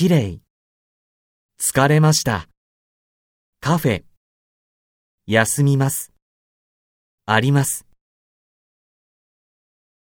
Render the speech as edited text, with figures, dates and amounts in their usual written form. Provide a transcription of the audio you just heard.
きれい。疲れました。カフェ。休みます。あります。